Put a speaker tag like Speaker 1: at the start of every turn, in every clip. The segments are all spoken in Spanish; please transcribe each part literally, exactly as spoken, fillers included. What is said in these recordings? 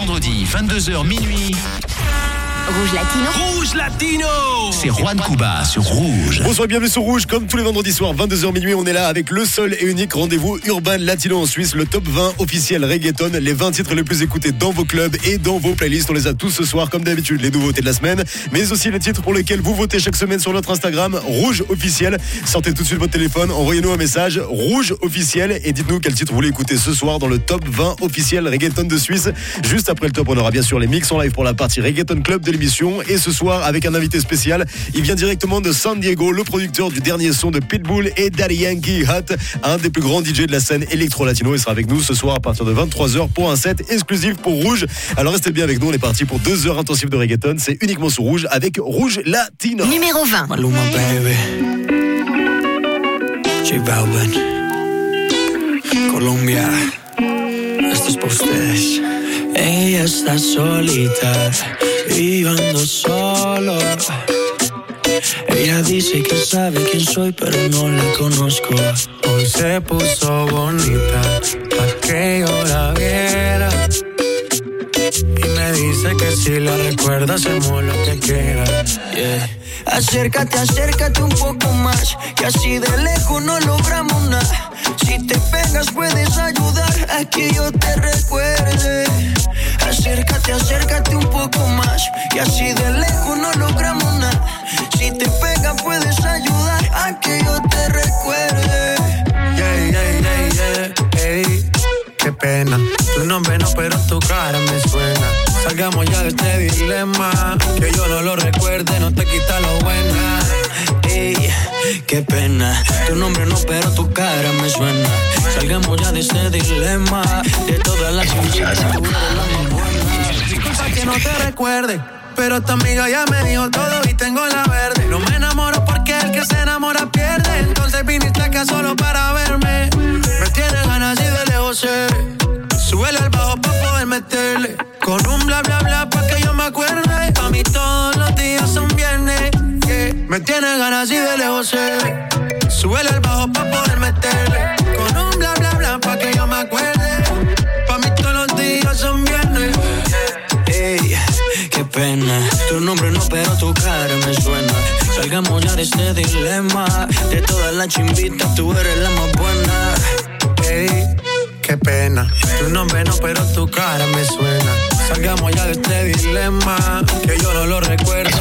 Speaker 1: vendredi, vingt-deux heures minuit.
Speaker 2: Rouge Latino.
Speaker 1: Rouge Latino. C'est Juan Cuba sur Rouge.
Speaker 3: Bonsoir, bienvenue sur Rouge. Comme tous les vendredis soirs, vingt-deux heures minuit, on est là avec le seul et unique rendez-vous Urban Latino en Suisse, le top vingt officiel reggaeton, les vingt titres les plus écoutés dans vos clubs et dans vos playlists. On les a tous ce soir, comme d'habitude, les nouveautés de la semaine, mais aussi les titres pour lesquels vous votez chaque semaine sur notre Instagram, Rouge Officiel. Sortez tout de suite votre téléphone, envoyez-nous un message, Rouge Officiel, et dites-nous quel titre vous voulez écouter ce soir dans le top vingt officiel reggaeton de Suisse. Juste après le top, on aura bien sûr les mix en live pour la partie Reggaeton Club de l'émission. Et ce soir, avec un invité spécial, il vient directement de San Diego, le producteur du dernier son de Pitbull et Daddy Yankee, Hot, un des plus grands D J de la scène électro-latino. Il sera avec nous ce soir à partir de vingt-trois heures pour un set exclusif pour Rouge. Alors restez bien avec nous, on est parti pour deux heures intensives de reggaeton. C'est uniquement sur Rouge avec Rouge Latino.
Speaker 2: Numéro vingt.
Speaker 4: Maluma, baby. J Balvin. Colombia. Esto es para ustedes. Ella está solita, y yo ando solo. Ella dice que sabe quién soy, pero no la conozco. Hoy se puso bonita, pa' que yo la viera. Y me dice que si la recuerda, hacemos lo que quiera. Yeah.
Speaker 5: Acércate, acércate un poco más, que así de lejos no logramos nada. Si te pegas puedes ayudar a que yo te recuerde. Acércate, acércate un poco más, que así de lejos no logramos nada. Si te pegas puedes ayudar a que yo te recuerde.
Speaker 4: Yeah, yeah, yeah, yeah, hey, qué pena. Tu nombre no, pero tu cara me suena. Salgamos ya de este dilema, que yo no lo recuerde, no te quita lo buena. Ey, qué pena. Tu nombre no, pero tu cara me suena. Salgamos ya de este dilema, de todas las cosas, tú eres la más buena. Disculpa que no te recuerde, pero tu amiga ya me dijo todo y tengo la verde. No me enamoro porque el que se enamora pierde. Entonces viniste acá solo para verme. Me tienes ganas y de lejos sé. Súbele al bajo pa' poder meterle. Con un bla bla bla pa' que yo me acuerde. Pa' mí todos los días son viernes. Yeah. Me tienes ganas y de lejos sé. Súbele al bajo pa' poder meterle. Con un bla bla bla pa' que yo me acuerde. Pa' mí todos los días son viernes. Ey, qué pena. Tu nombre no, pero tu cara me suena. Salgamos ya de este dilema. De todas las chimbitas tú eres la más buena. Ey, qué pena. Tu nombre no, pero tu cara me suena. Salgamos ya de este dilema, que yo no lo recuerdo.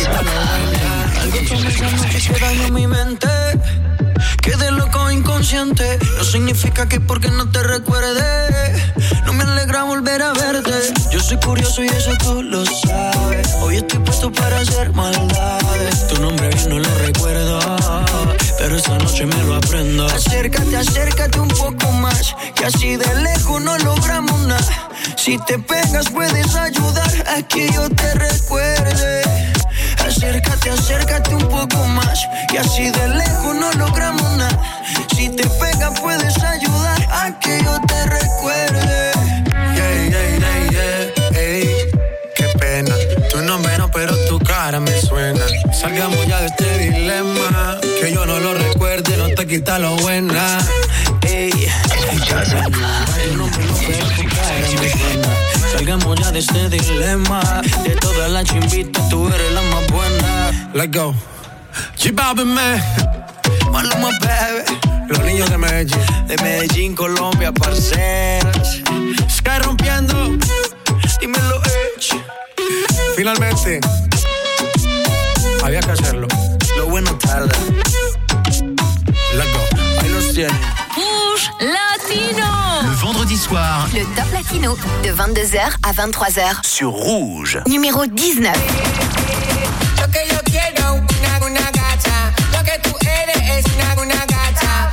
Speaker 4: Algo comenzando que se dañó en mi mente. Quedé loco inconsciente. No significa que porque no te recuerde no me alegra volver a verte. Yo soy curioso y eso tú lo sabes. Hoy estoy puesto para hacer maldades. Tu nombre bien no lo recuerdo, pero esta noche me lo aprendo.
Speaker 5: Acércate, acércate un poco más, que así de lejos no logramos nada. Si te pegas puedes ayudar a que yo te recuerde. Acércate, acércate un poco más, que así de lejos no logramos nada. Si te pegas puedes ayudar a que yo te recuerde.
Speaker 4: Yeah, yeah, yeah, yeah, ey, qué pena. Tu nombre no, pero tu cara me suena. Salgamos ya de este dilema, que yo no lo recuerde, no te quita lo buena. Ey, tu nombre no, pero tu cara me suena. Salgamos ya de este dilema, de todas las chimbitas tú eres la más buena. Let's go. J Balvin, man.
Speaker 5: Maluma, baby.
Speaker 4: Los niños de Medellín.
Speaker 5: De Medellín, Colombia, parceras.
Speaker 4: Sky rompiendo.
Speaker 5: Dímelo, Edge.
Speaker 4: Finalmente, había que hacerlo.
Speaker 5: Lo bueno tarda.
Speaker 4: Let's go. Ahí los tienen.
Speaker 2: Rouge Latino.
Speaker 1: Le vendredi soir,
Speaker 2: Le top latino de vingt-deux heures à vingt-trois heures.
Speaker 1: sur Rouge.
Speaker 2: Numéro dix-neuf.
Speaker 6: Lo que yo quiero, una, una gata. Lo que tú eres es una, una gata.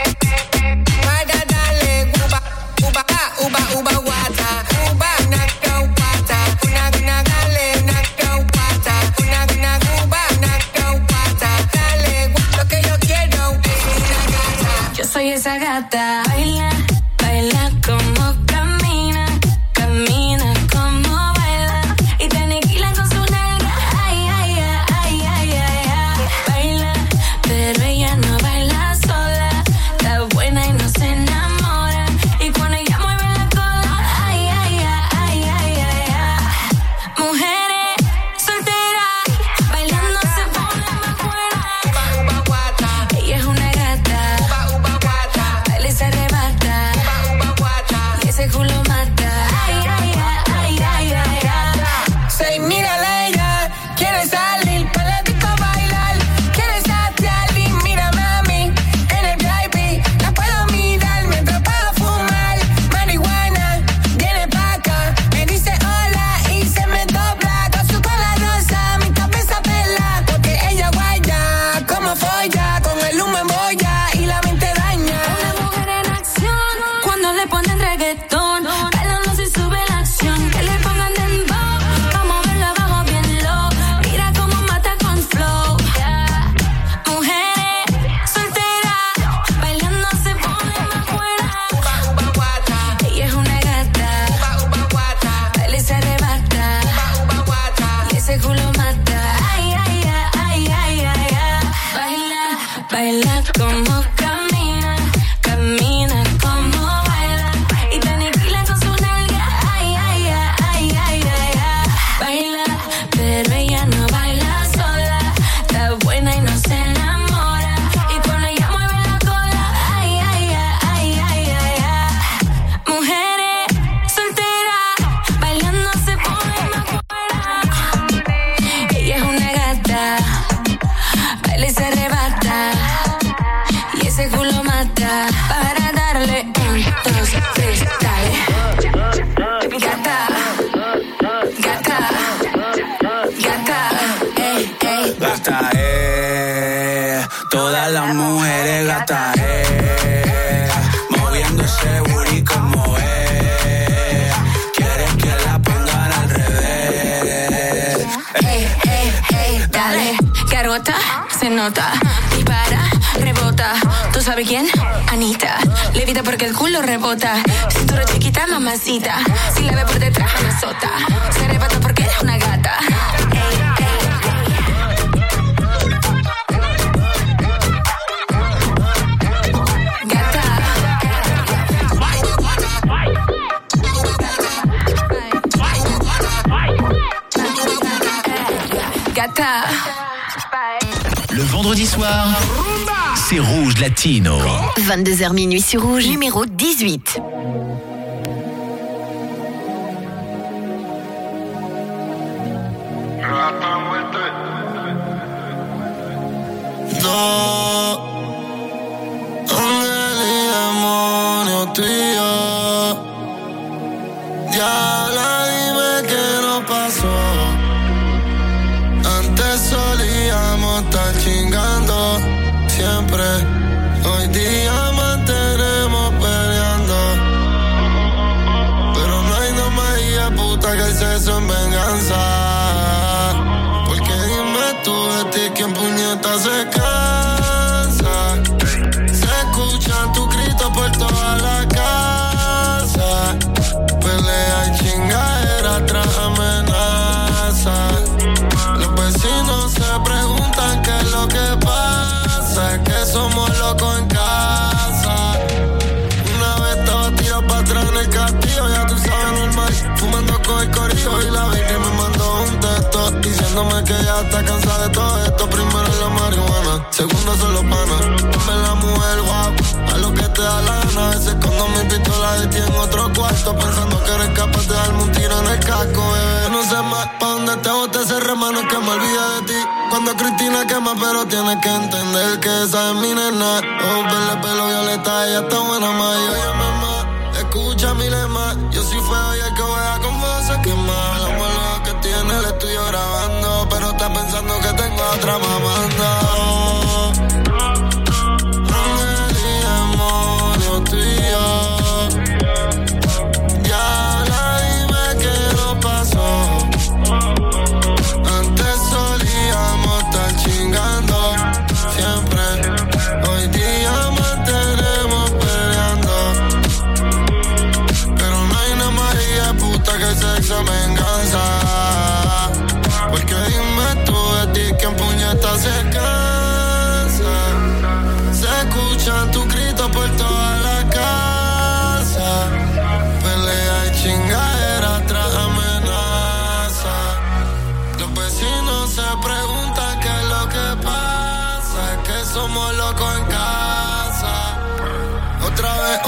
Speaker 6: Para darle uba, uba, uba, uba, guata. Uba, una caupata. Una, una, dale, una caupata. Una, una, uba, una caupata. Dale, lo que yo quiero es una gata.
Speaker 7: Yo soy esa gata. Baila, baila como camina, camina como baila. Y te aniquila con su nalga. Ay, ese culo mata. Ay, ay, ay, ay, ay, ay, ay.
Speaker 6: Say, mírala ella, quiere salir para la disco bailar. Quiere saciar y mira mami, en el V I P la puedo mirar mientras puedo fumar marihuana. Viene pa' acá, me dice hola y se me dobla con su cola rosa, mi cabeza pela. Porque ella guaya, como folla, con el humo en boya y la mente daña.
Speaker 7: Una mujer en acción, cuando le ponen reggaetón, bailando se sube la acción, que le pongan dembow, vamos a verlo abajo bien low, mira cómo mata con flow. Yeah. Mujeres solteras, bailando se pone más buena. Ella es una gata, baila y se arrebata, y ese culo mata. Ay, ay, ay, ay, ay, ay, ay. Baila, baila como camina, camina como baila, y te aniquila con su nalga. Ay, ay, ay, ay, ay, ay, ay. Baila, pero ella no baila sola, está buena y no se enamora, y cuando ella mueve la cola, ay, ay, ay, ay, ay, ay, ay. Mujeres solteras, bailando se pone más buena. Ella es una gata, baila y se arrebata, y ese culo mata. Para darle un, dos, tres, dale. Gata, gata, gata, ey, ey.
Speaker 4: Gata, eh, todas las mujeres gata, eh, moviendo ese booty como es, quieres que la pongan al revés.
Speaker 7: Ey, ey, ey, dale, garota, se nota, dispara, rebota, ¿tú sabes quién? Anita, levita porque el culo rebota, cintura chiquita, mamacita, si la ve por detrás, me azota, se arrebata porque eres una gata. Ey, ey. Gata. Gata.
Speaker 1: Le vendredi soir, c'est Rouge Latino.
Speaker 2: vingt-deux heures minuit sur Rouge, numéro dix-huit.
Speaker 8: No, ángel y demonio tú y yo. Diabla, dime qué nos pasó. Antes solíamos estar chingando siempre. Hoy día mantenemos peleando. Pero no hay no más hija puta que el sexo en venganza. Porque dime tú de ti quién puñeta se cansa. Se escuchan tus gritos por toda la casa. Pelea y chingadera tras amenaza. Los vecinos se preguntan qué es lo que pasa. Es que somos locos en casa. Una vez estaba tirado para atrás en el castillo, ya tú sabes, normal. Fumando con el corillo y la baby me mandó un texto diciéndome que ya está cansada de todo esto. Primero es la marihuana, segundo son los panas. Dame la mujer guapa, a lo que te da la gana. A veces escondo mi pistola de ti en otro cuarto, pensando que eres capaz de darme un tiro en el casco, bebé. No sé más pa' dónde te bote ese remano que me olvide de ti. Cuando Cristina quema, pero tienes que entender que esa es mi nena. Oh, verle pelo violeta, ella está buena, ma. Y oye, mamá, escucha mi lema. Yo sí fue hoy el que voy a confesar que más. La muela que tiene el estudio grabando, pero está pensando que tengo a otra mamando. Ángel y demonio tú y yo. Diabla, dime qué nos pasó. Antes solíamos estar chingando siempre. Hoy día mantenemos peleando. Pero no hay nada más hija puta que el sexo en venganza. Porque dime tú de ti quién puñeta se cansa.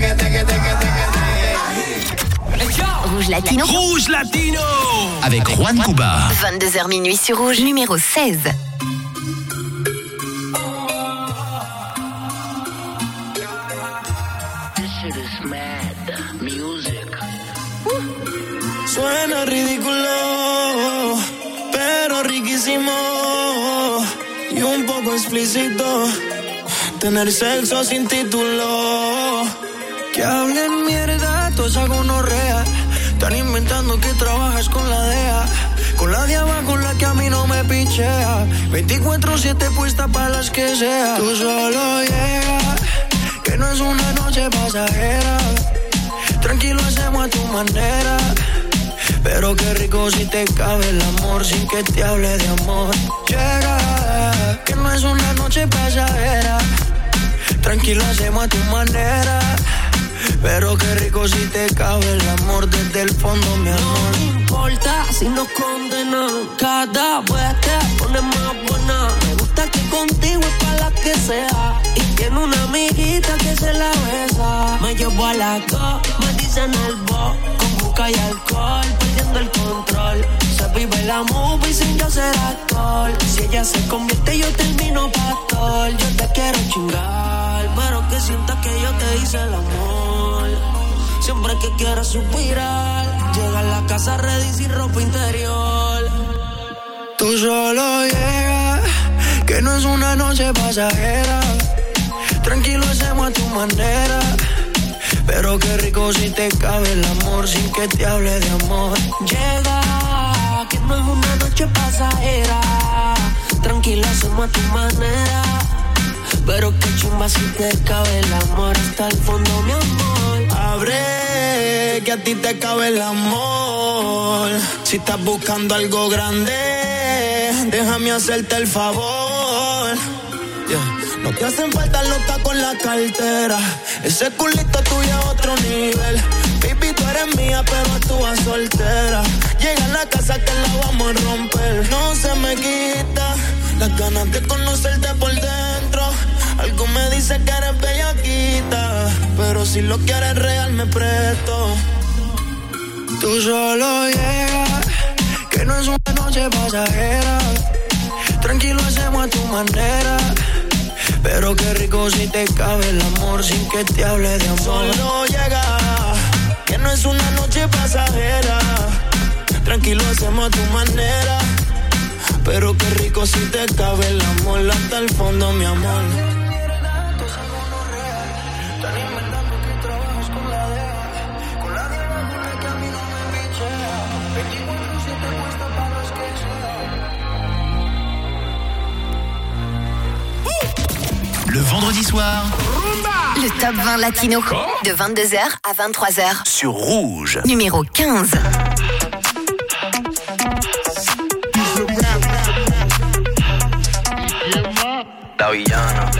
Speaker 2: Rouge Latino.
Speaker 1: Rouge Latino avec Juan Cuba.
Speaker 2: vingt-deux heures minuit sur Rouge, numéro seize.
Speaker 5: Suena ridículo, pero riquísimo y un poco explícito. Tener sexo sin título. Que hablen mierda, toda esa gonorrea. Están inventando que trabajas con la D E A. Con la de abajo la que a mí no me pichea. veinticuatro siete puesta para las que sea. Tú solo llegas, que no es una noche pasajera. Tranquilo hacemos a tu manera. Pero qué rico si te cabe el amor sin que te hable de amor. Llega, que no es una noche pasajera. Tranquilo hacemos a tu manera. Pero qué rico si te cabe el amor desde el fondo, mi amor.
Speaker 9: No me importa si nos condenan. Cada vez te pones más buena. Me gusta que contigo es para la que sea. Y tiene una amiguita que se la besa. Me llevo a la go, me dicen el bo. Con busca y alcohol, perdiendo el control. Se vive la movie sin yo ser actor. Si ella se convierte yo termino pastor. Yo te quiero chingar, pero que sientas que yo te hice el amor. Siempre que quieras suspirar, llega a la casa ready sin ropa interior.
Speaker 5: Tú solo llegas, que no es una noche pasajera. Tranquilo hacemos a tu manera. Pero qué rico si te cabe el amor sin que te hable de amor.
Speaker 9: Llega, que no es una noche pasajera. Tranquilo hacemos a tu manera. Pero qué chumba si te cabe el amor hasta el fondo, mi amor.
Speaker 5: Abre, que a ti te cabe el amor. Si estás buscando algo grande, déjame hacerte el favor. Yeah. No te hacen falta los tacos en la cartera. Ese culito tuyo a otro nivel. Baby, tú eres mía, pero actúas soltera. Llega a la casa que la vamos a romper. No se me quita las ganas de conocerte por dentro. Algo me dice que eres bellaquita, pero si lo quieres real me presto. Tú solo llegas, que no es una noche pasajera. Tranquilo hacemos a tu manera. Pero qué rico si te cabe el amor sin que te hable de amor. Solo llega, que no es una noche pasajera. Tranquilo hacemos a tu manera. Pero qué rico si te cabe el amor hasta el fondo, mi amor.
Speaker 1: Le vendredi soir,
Speaker 2: le top vingt latino de vingt-deux heures à vingt-trois heures
Speaker 1: sur Rouge.
Speaker 2: Numéro quinze.
Speaker 10: La villana.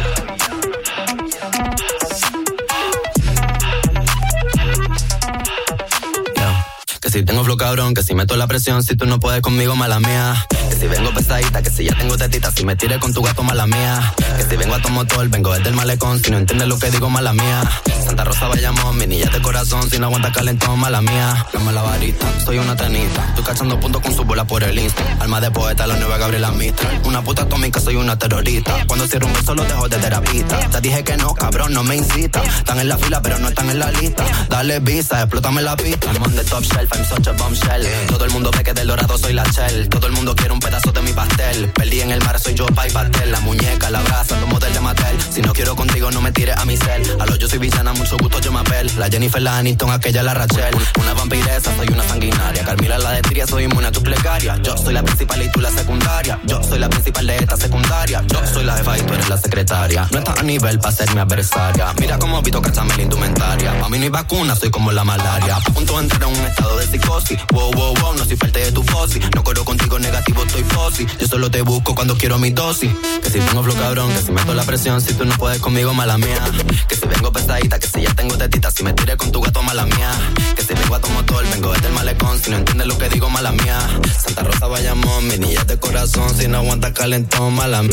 Speaker 10: Que si tengo flow cabrón, que si meto la presión, si tú no puedes conmigo, mala mía. Que si vengo pesadita, que si ya tengo tetita, si me tire con tu gato, mala mía. Que si vengo a tu motor, vengo desde el malecón, si no entiendes lo que digo, mala mía. Santa Rosa, Bayamón, mi niña de corazón, si no aguanta calentón, mala mía. Dame la varita, soy una tenista, estoy cachando puntos con su bola por el Insta. Alma de poeta, la nueva Gabriela Mistral. Una puta atómica, soy una terrorista. Cuando cierro un beso, lo dejo de terapista. Te dije que no, cabrón, no me incita. Están en la fila, pero no están en la lista. Dale visa, explótame la pista. I'm on the top shelf, I'm such a bombshell. Todo el mundo ve que del dorado soy la shell. Todo el mundo quiere un pedazo de mi pastel. Perdí en el mar, soy yo, pa' y pastel. La muñeca, la brasa, tomo del de Mattel. Si no quiero contigo, no me tires a mi cel. A lo yo soy villana, mucho gusto, yo me apel. La Jennifer, la Aniston, aquella, la Rachel. Una vampiresa, soy una sanguinaria. Carmila, la de Tiria, soy inmune a tu plegaria. Yo soy la principal y tú la secundaria. Yo soy la principal de esta secundaria. Yo soy la jefa y tú eres la secretaria. No estás a nivel pa' ser mi adversaria. Mira cómo Vito cachame la indumentaria. A mí no hay vacuna, soy como la malaria. A punto de entrar en un estado de psicosis. Wow, wow, wow, no soy parte de tu fosi. No corro contigo negativo, estoy fosi. Yo solo te busco cuando quiero mi dosis. Que si tengo flow cabrón, que si meto la presión, si tú no puedes conmigo, mala mía. Que si vengo pesadita, que si ya tengo tetita, si me tiré con tu gato, mala mía. Que si vengo a tu motor, vengo desde el malecón, si no entiendes lo que digo, mala mía. Santa Rosa, Bayamón, mi niña de corazón, si no aguanta calentón, mala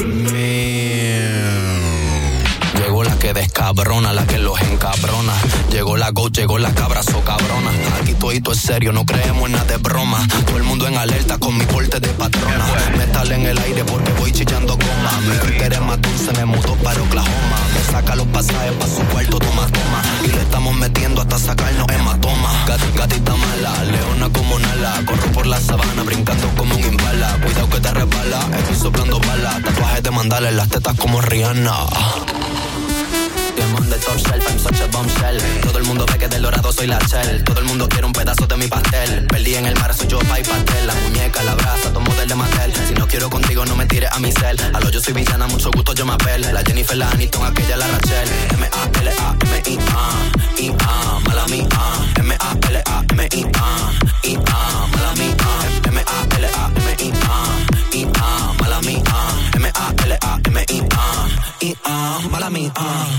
Speaker 10: mía. Llegó la que descabrona, la que los encabrona. Llegó la go, llegó la cabra, so cabrona. Aquí todito es serio, no creemos en nada de broma. Todo el mundo en alerta con mi porte de patrona. Metal en el aire porque voy chillando goma. Mi Twitter es más dulce, me mudó para Oklahoma. Me saca los pasajes pa' su cuarto, toma, toma. Y le estamos metiendo hasta sacarnos hematoma. Gat, gatita mala, leona como Nala. Corro por la sabana, brincando como un imbala. Cuidado que te resbala, estoy soplando balas. Tatuajes de mandala en las tetas como Rihanna. de top shelf, I'm such a bombshell. Todo el mundo ve que del dorado soy la shell. Todo el mundo quiere un pedazo de mi pastel. Perdí en el mar, soy yo, pa' y pastel. La muñeca, la brasa, todo model de Mattel. Si no quiero contigo, no me tires a mi cel. A lo yo soy villana, mucho gusto yo me apel. La Jennifer, la Aniston, aquella la Rachel. M A L A M I A I A, mala mía. M A L A M I A I A, mala mía. M A L A M I A I A, mala mía. M A L A M I A I A, mala mía.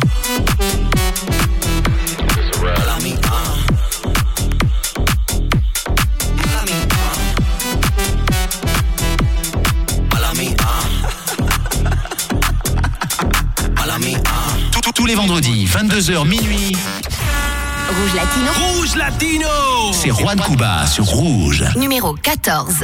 Speaker 10: Mala mía. Mala mía. Mala mía. Mala mía.
Speaker 1: Tous les vendredis, vingt-deux heures minuit.
Speaker 2: Rouge Latino.
Speaker 1: Rouge Latino. C'est Juan Cuba sur Rouge.
Speaker 2: Numéro quatorze.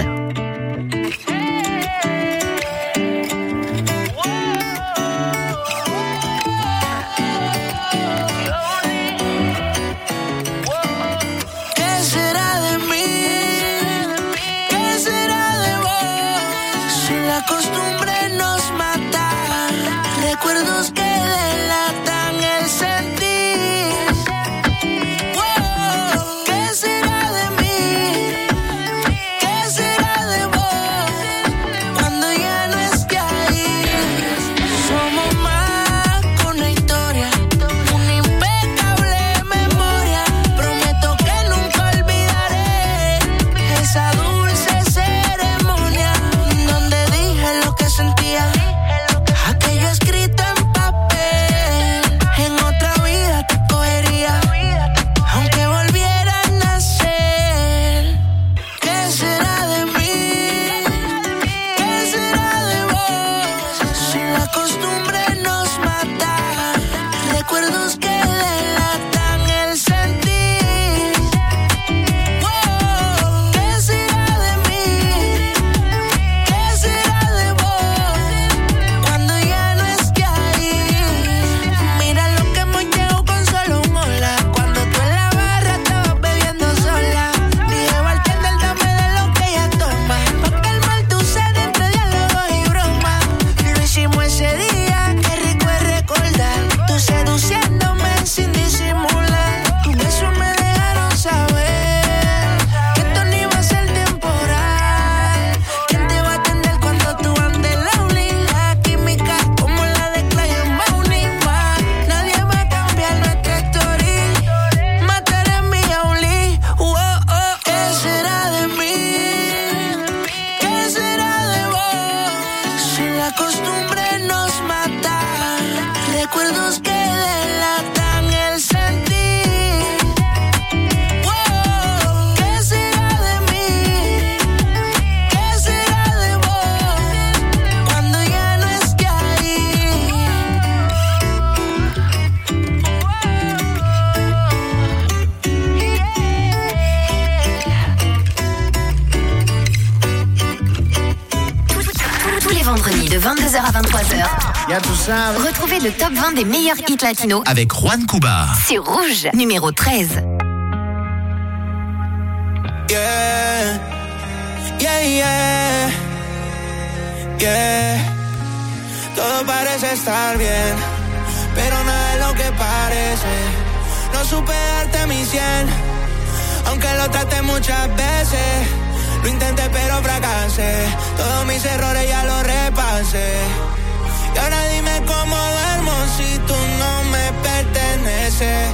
Speaker 9: Recuerdos que delatan el sentir. Wow, ¿qué será de mí? ¿Qué será de vos? Cuando ya no esté ahí. Somos más que una historia, una impecable memoria. Prometo que nunca olvidaré esa dulce ceremonia donde dije lo que sentía. Aquello escrito en papel, en otra vida te cogería, aunque volviera a nacer. ¿Qué será de mí? ¿Qué será de vos? Si la costumbre nos mata, recuerdos que delatan el sentir. Wow, ¿qué será de mí? ¿Qué será de vos? Cuando ya no esté ahí. Mira lo que hemos llegado con solo un hola. Cuando tú en la barra estabas bebiendo sola, dije bartender, dame de lo que ella toma, pa' calmar tu sed entre diálogos y bromas. Lo hicimos ese día, qué rico es recordar. Tú seduciéndome sin disimular. Tus besos me dejaron saber que esto no iba a ser temporal. ¿Quién te va a atender cuando tú andes lonely? La química como la de Clay en Bounty. Nadie va a cambiar nuestra historia. Mataré mi only. Oh, oh, ¿qué será de mí? ¿Qué será de vos? Si la costumbre nos mata, recuerdos que delatan el sentir. Wow, ¿qué será de mí? ¿Qué será de vos? Cuando ya no esté ahí.
Speaker 2: Tous les vendredis de vingt-deux heures à vingt-trois heures.
Speaker 4: Ya tú sabes.
Speaker 2: Retrouvez le top vingt des meilleurs hits latinos
Speaker 1: Avec Juan Cuba.
Speaker 2: sur Rouge. Numéro treize.
Speaker 5: Yeah, yeah, yeah, yeah. Todo parece estar bien, pero nada es lo que parece. No supe darte mi cien, aunque lo traté muchas veces. Lo intenté pero fracasé, todos mis errores ya los repasé. Y ahora dime cómo duermo si tú no me perteneces.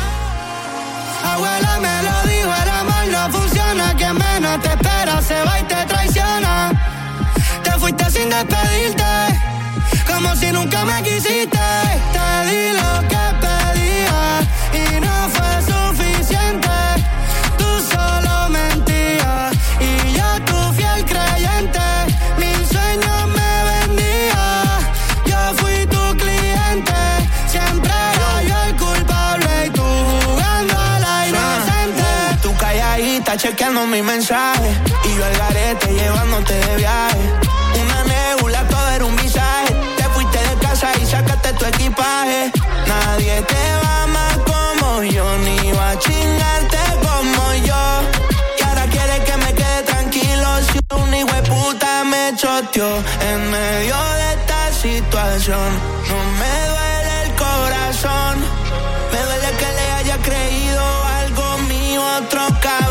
Speaker 5: Abuela me lo dijo, el amor no funciona. Quien menos te espera se va y te traiciona. Te fuiste sin despedirte, como si nunca me quisiste. Te di lo que pedía y no fue suficiente. Tú solo mentías y yo tu fiel creyente. Mil sueños me vendía, yo fui tu cliente. Siempre era yo el culpable y tú jugando a la inocente. Tú calladita chequeando mi mensaje y yo al garete llevándote de viaje. Una nebula, todo era un visaje. Te fuiste de casa y sacaste tu equipaje. Nadie te va a amar como yo, ni va a chingarte como yo. Y ahora quieres que me quede tranquilo si un hijo de puta me choteó. En medio de esta situación no me duele el corazón.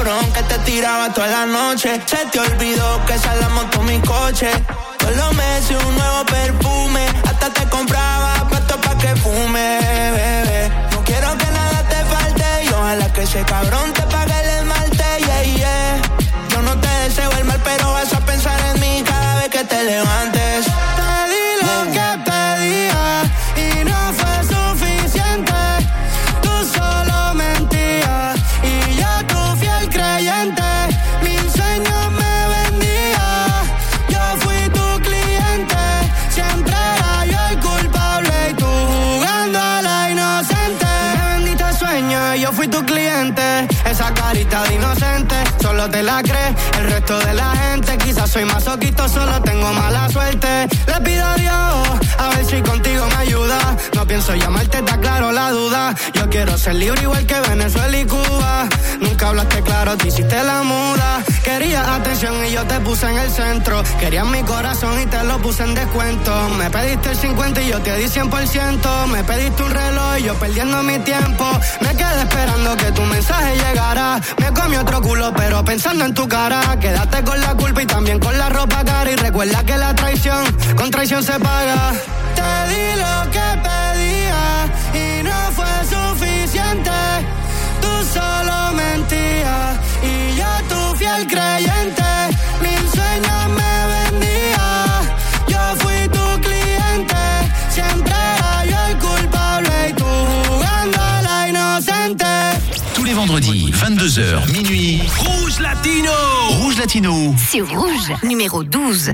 Speaker 11: cabrón que te tiraba toda la noche. Se te olvidó que esa la montó mi coche. Todos los meses un nuevo perfume. Hasta te compraba puesto pa' que fume, bebé. No quiero que nada te falte y ojalá que ese cabrón te pague el esmalte, yeah, yeah. Yo no te deseo el mal, pero vas a pensar en mí cada vez que te levantes.
Speaker 12: Te di lo que pedía y no fue suficiente. Tú solo mentías y yo tu fiel creyente. Mil sueños me vendía, yo fui tu cliente. Siempre era yo el culpable y tú jugando a la inocente. Me vendiste sueño y yo fui tu cliente. Esa carita de inocente solo te la crees, el resto de la gente. Quizás soy masoquista, solo tengo mala suerte. Le pido a Dios, a ver si contigo me ayuda. No pienso llamarte, está claro la duda. Yo quiero ser libre igual que Venezuela y Cuba. Nunca hablaste claro, te hiciste la muda. Querías atención y yo te puse en el centro. Querías mi corazón y te lo puse en descuento. Me pediste el cincuenta y yo te di cien por ciento. Me pediste un reloj y yo perdiendo mi tiempo. Me quedé esperando que tu mensaje llegara. Me comí otro culo pero pensando en tu cara. Quédate con la culpa y también con la ropa cara. Y recuerda que la traición con traición se paga. Te di lo que pedía y no fue suficiente. Tú solo mentías y yo tu fiel creyente. Mil sueños me vendía, yo fui tu cliente. Siempre era yo el culpable y tú jugando a la inocente.
Speaker 1: Tous les vendredis, vingt-deux heures, minuit. Rouge Latino. Rouge Latino.
Speaker 2: C'est Rouge, numéro douze.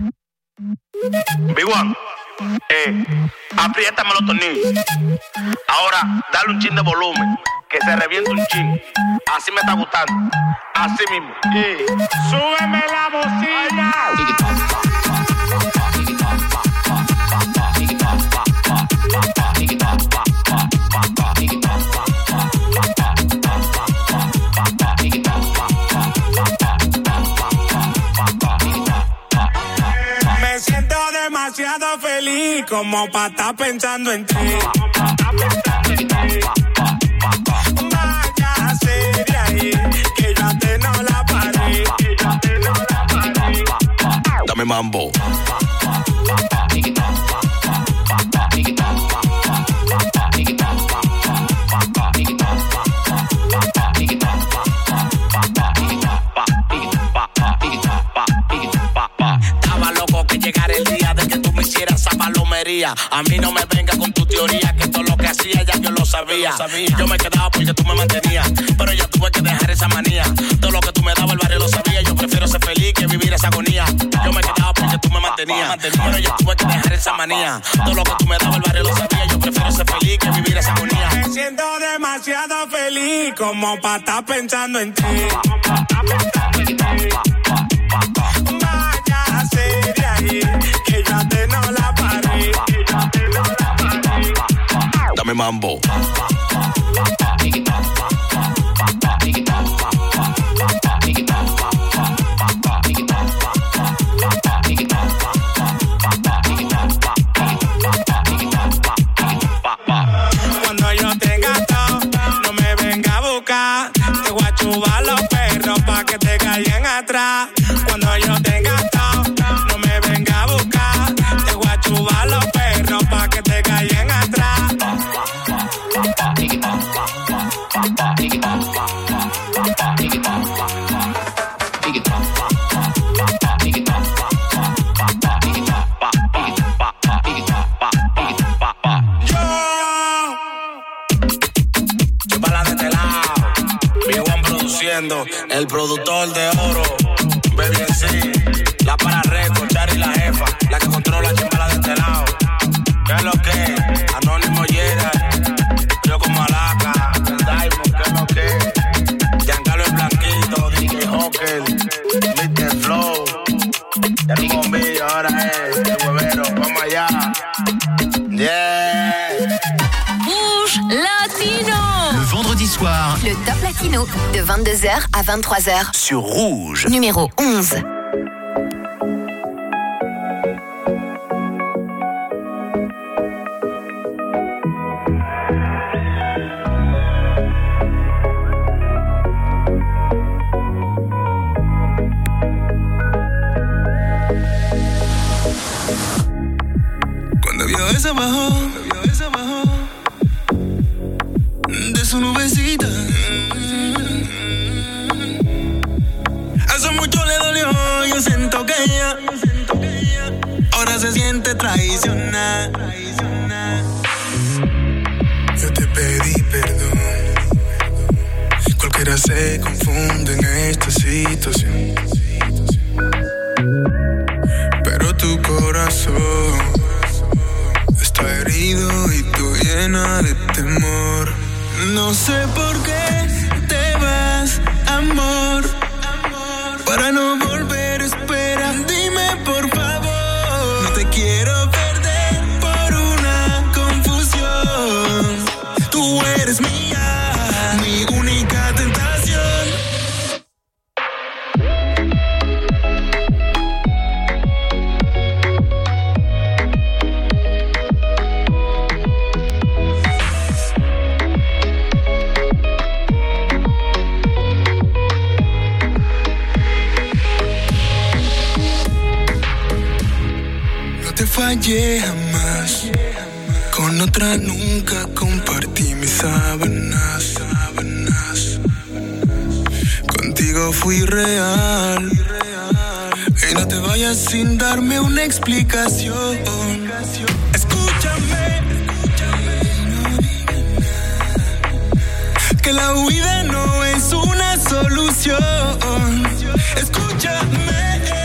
Speaker 13: Big One, eh, apriétame los tornillos. Ahora, dale un chin de volumen, que se reviente un chin. Así me está gustando, así mismo. Eh. Súbeme la bocina.
Speaker 11: Me siento demasiado feliz como pa' estar pensando en ti. Vaya serie ahí, que yo te no la paré.
Speaker 13: Dame mambo.
Speaker 11: Estaba loco que llegara el día de que tú me hicieras esa palomería. A mí no me venga con tu teoría, que todo lo que hacía ya yo lo sabía. Yo me quedaba porque tú me mantenías, pero ya tuve que dejar esa manía. Todo lo que tú me dabas el barrio lo sabía. Yo prefiero ser feliz que vivir esa agonía. Yo me quedaba porque tú me mantenías, pero ya tuve que dejar esa manía. Todo lo que tú me dabas el barrio lo sabía. Yo prefiero ser feliz que vivir esa agonía. Me siento demasiado feliz como pa' estar pensando en ti. Vaya serie ahí, que yo te no la paré.
Speaker 13: Dame mambo.
Speaker 11: Cuando yo tenga todo, no me venga a buscar. Te voy a chubar los perros pa' que te caigan atrás. Cuando yo tenga todo, no me venga a buscar. Te voy a chubar los perros pa' que te caigan atrás.
Speaker 13: El productor de oro, Baby en sí, la para récord, Chari la jefa, la que controla chimbala de este lado. ¿Qué es lo que? Anónimo Gerard, yo con Malaca, el Diamond, ¿qué es lo que? Giancarlo el Blanquito, D J Hawker, mister Flow, ya no bombillo, ahora es el huevero, vamos allá. Yeah.
Speaker 2: Rouge Latino.
Speaker 1: Le vendredi soir,
Speaker 2: le Top Latino de vingt-deux heures à vingt-trois heures
Speaker 1: sur Rouge.
Speaker 2: Numéro onze.
Speaker 14: vio esa bajó, lo vio esa bajó de su nubecita. Hace mucho le dolió, yo siento que ella ahora se siente traicionada.
Speaker 15: Yo te pedí perdón, cualquiera se confunde en esta situación, pero tu corazón está herido y tú llena de temor.
Speaker 14: No sé por qué te vas, amor, para no volver, espera, dime por favor. No te quiero perder por una confusión. Tú eres mía, mi única tentación.
Speaker 15: Fallé jamás, con otra nunca compartí mis sábanas, sábanas. Contigo fui real, y no te vayas sin darme una explicación. Escúchame, que la huida no es una solución. Escúchame.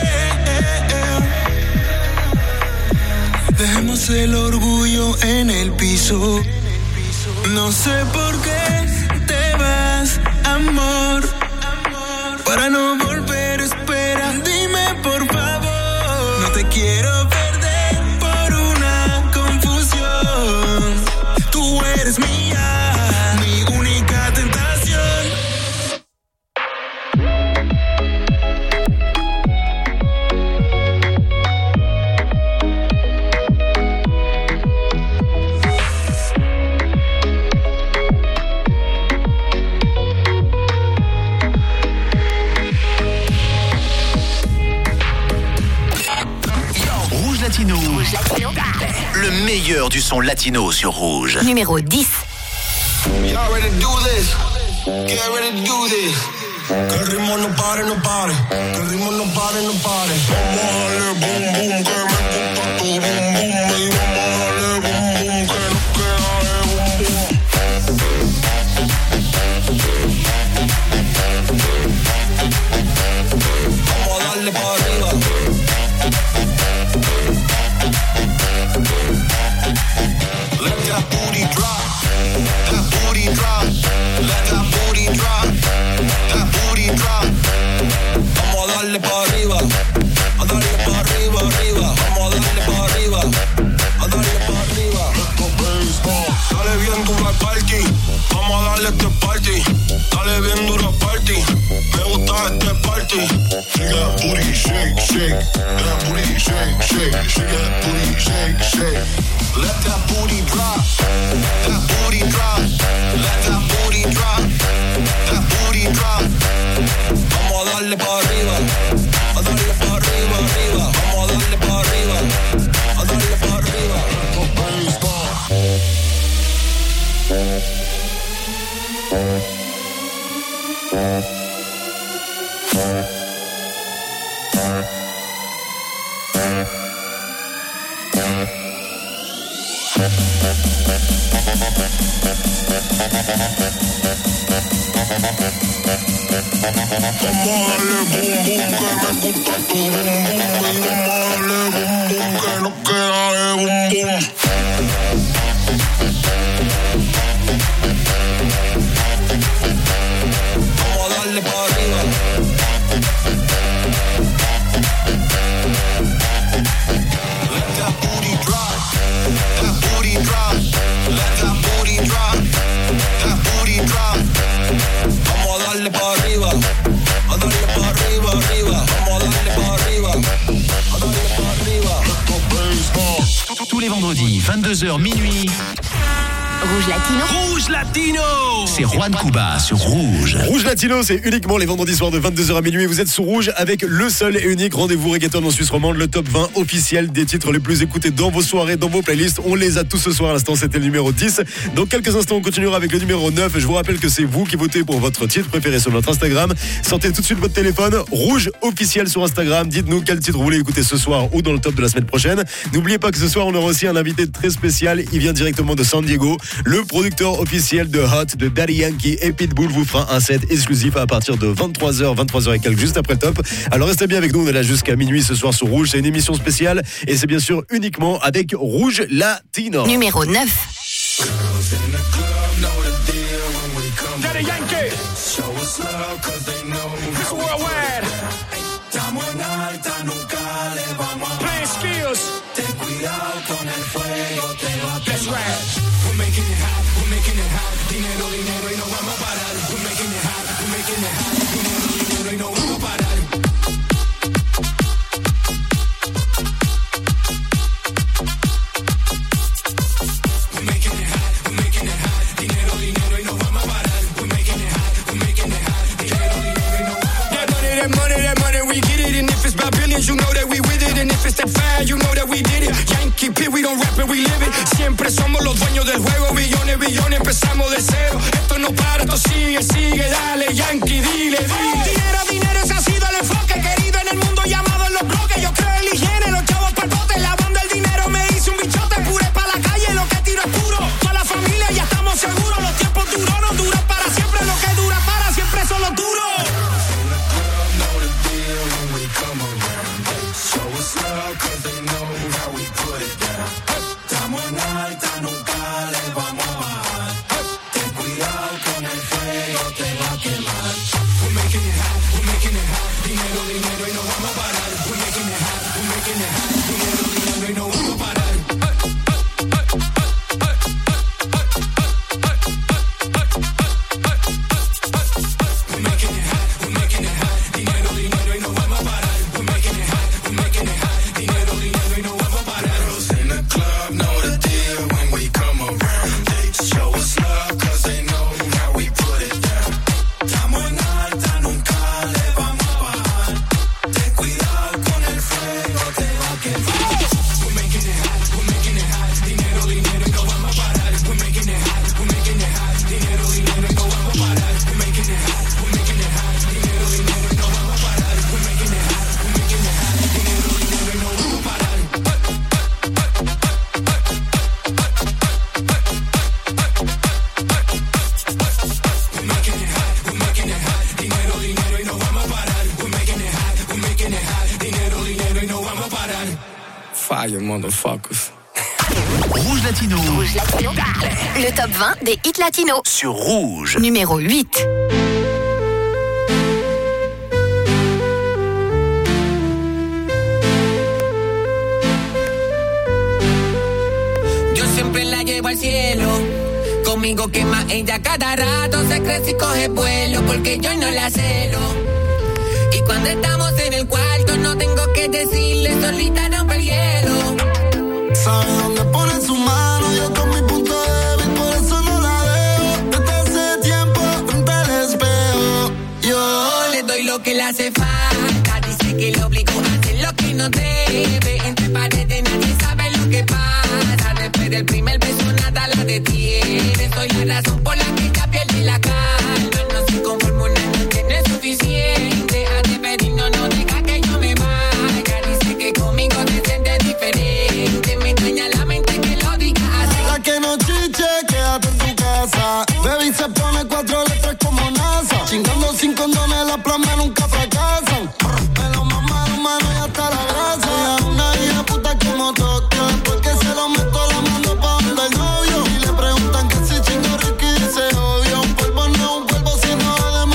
Speaker 15: Dejemos el orgullo en el piso. No sé por qué te vas, amor, para no volver, espera, dime por favor. No te quiero perder por una confusión. Tú eres mía, mi única tentación.
Speaker 1: Le meilleur du son latino sur Rouge.
Speaker 2: Numéro dix.
Speaker 8: Y'all ready to do this? Get ready to do this. Que el ritmo no pare, no pare. Que el ritmo no pare, no pare. Vamos a darle boom, boom, que me gusta tu boom, boom. Y vamos a darle boom, boom, que nos queda de boom, boom. Vamos a darle para arriba. Let that booty drop, that booty drop, let that booty drop, that booty drop. Vamos a darle para arriba, a darle para arriba, arriba. Vamos a darle para arriba, a darle para arriba. Dale bien duro al party, vamos a darle este party. Dale bien duro al party, me gusta este party. Shake that booty, shake, shake, that booty, shake, shake, shake that booty, shake, shake. Let that booty drop, that booty drop, let that booty drop, that booty drop. Vamos a darle para arriba, a darle para arriba, arriba. Vamos a darle para arriba, a darle para arriba.
Speaker 1: Tous les vendredis, vingt-deux heures minuit.
Speaker 2: Rouge Latino.
Speaker 1: Rouge Latino. C'est Juan Cuba sur Rouge.
Speaker 3: Rouge Latino, c'est uniquement les vendredis soirs de vingt-deux heures à minuit. Vous êtes sous Rouge avec le seul et unique rendez-vous reggaeton en Suisse romande, le top vingt officiel des titres les plus écoutés dans vos soirées, dans vos playlists. On les a tous ce soir. À l'instant, c'était le numéro dix. Dans quelques instants, on continuera avec le numéro neuf. Je vous rappelle que c'est vous qui votez pour votre titre préféré sur notre Instagram. Sortez tout de suite votre téléphone. Rouge officiel sur Instagram. Dites-nous quel titre vous voulez écouter ce soir ou dans le top de la semaine prochaine. N'oubliez pas que ce soir, on aura aussi un invité très spécial. Il vient directement de San Diego. Le producteur officiel de Hot, de Daddy Yankee et Pitbull vous fera un set exclusif à partir de vingt-trois heures, vingt-trois heures et quelques, juste après le top. Alors restez bien avec nous, on est là jusqu'à minuit ce soir sur Rouge. C'est une émission spéciale et c'est bien sûr uniquement avec Rouge Latino.
Speaker 2: Numéro neuf.
Speaker 16: Daddy Yankee. Show us love cause they know. It's worldwide. Estamos en alta, nunca le vamos a play skills. Ten cuidado con el fuego, te va a quemar. That's right. We're making it hot, we're making it hot. Dinero, dinero y no vamos a parar. We're making it hot, we're making it hot. Dinero, dinero y no vamos a parar. You know that we with it, and if it's that fire, you know that we did it. Yankee P, we don't rap it, we live it. Siempre somos los dueños del juego, billones, billones, empezamos de cero. Esto no para, esto sigue, sigue, dale, Yankee, dile, dile. Dinero, dinero, ese ha sido el enfoque, querido en el mundo llamado en los bloques. Yo creo en la higiene, los chavos pa'l bote, la banda del dinero me hizo un bichote, pure pa' la calle, lo que tiro es puro. Toda la familia ya estamos seguros, los tiempos duros no duran para siempre, lo que dura para siempre son los duros. Cause they know how we put it down. Estamos en alta, nunca le vamos a bajar. Ten cuidado con el fuego, te va a quemar. We're making it hot, we're making it hot. Dinero, dinero y no vamos a parar. We're making it hot, we're making it hot. Dinero, dinero y no vamos a parar. We're making it hot, we're making it hot. Dinero, dinero y no vamos a parar. We're making it hot, we're making it hot. Fire, motherfuckers.
Speaker 1: Rouge Latino.
Speaker 2: Rouge Latino. Le top vingt des hits latinos.
Speaker 1: Sur Rouge.
Speaker 2: Numéro huit.
Speaker 6: Yo siempre la llevo al cielo. Conmigo quema ella cada rato. Se crece y coge vuelo porque yo no la celo. Y cuando estamos en el cuarto no tengo que decirle, solita rompe el hielo.
Speaker 8: Sabe dónde pone su mano, yo con mi punto débil, por eso no la dejo. Desde hace tiempo frente al espejo, yo
Speaker 6: le doy lo que le hace falta. Dice que le obligo a hacer lo que no debe. Entre paredes nadie sabe lo que pasa. Después del primer beso nada la detiene. Soy la razón por la que ella pierde la calma. No se conforma una noche, no es suficiente. No, no deja que yo me vaya. Dice que conmigo te sientes diferente. Me engaña la mente que lo diga así.
Speaker 8: La que no chiche, quédate en tu casa. Baby se pone cuatro letras como NASA. Chingando sin condones, las plomas nunca fracasan. Me lo mamaron, mano, y hasta la grasa. Ella es una hija puta como Tokio. Porque se lo meto la mano pa' donde el novio. Y le preguntan que si chingo Ricky dice obvio. Un polvo no, un polvo sino de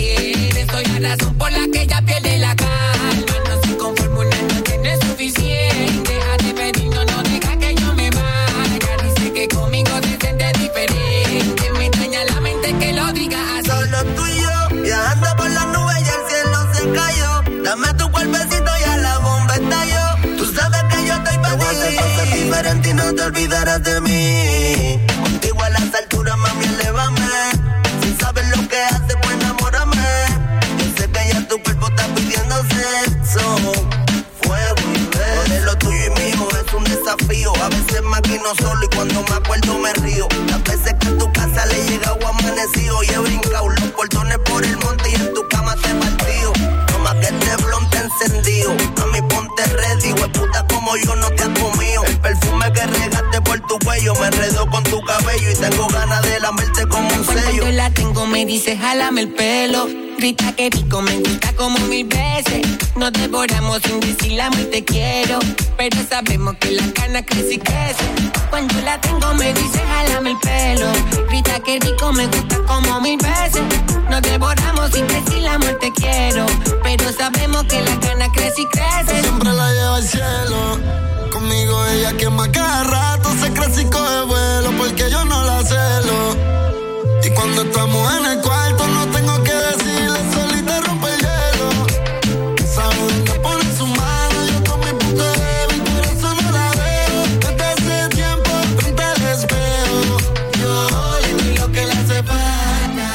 Speaker 6: tiene. Soy la razón por la que ella pierde la calma. No se conforma, una noche no es suficiente. Deja de pedir, no, no deja que yo me vaya. Dice que conmigo se siente diferente. Me extraña la mente que lo diga así.
Speaker 17: Solo tú y yo, viajando por las nubes y el cielo se cayó. Dame tu cuerpecito y a la bomba estalló. Tú sabes que yo estoy para ti. Te voy a hacer cosas diferentes y no te olvidarás de mí. Contigo a las alturas, mami, elévame. Si sabes lo que haces, pues enamórame. Yo sé que ya tu cuerpo está pidiendo sexo. Fuego y beso. De lo tuyo y mío es un desafío. A veces maquino solo y cuando me acuerdo me río. Las veces que a tu casa le he llegado amanecido y he brincado los portones por el monte y en tu cama te he partido. Toma que este blon te encendido. Mami, ponte ready, hueputa como yo no te has comido. El perfume que regaste por tu cuello me enredó con tu cabello y tengo ganas de lamerte como un sello.
Speaker 6: Cuando la tengo me dice jálame el pelo. Grita que rico, me gusta como mil veces. Nos devoramos sin decir la y te quiero. Pero sabemos que la cana crece y crece. Cuando la tengo me dice jálame el pelo. Grita que rico, me gusta como mil veces. Nos devoramos sin decir la te quiero. Pero sabemos que la cana crece y crece.
Speaker 8: Siempre la lleva al cielo. Conmigo ella quema cada rato. Se crece y coge vuelo porque yo no la celo. Y cuando estamos en el cuarto no tengo que decirle, solita rompe el hielo. Sabe dónde pone su mano, yo con mi punto débil, por eso no la veo. Desde hace tiempo frente al espejo, yo le doy lo que le hace falta.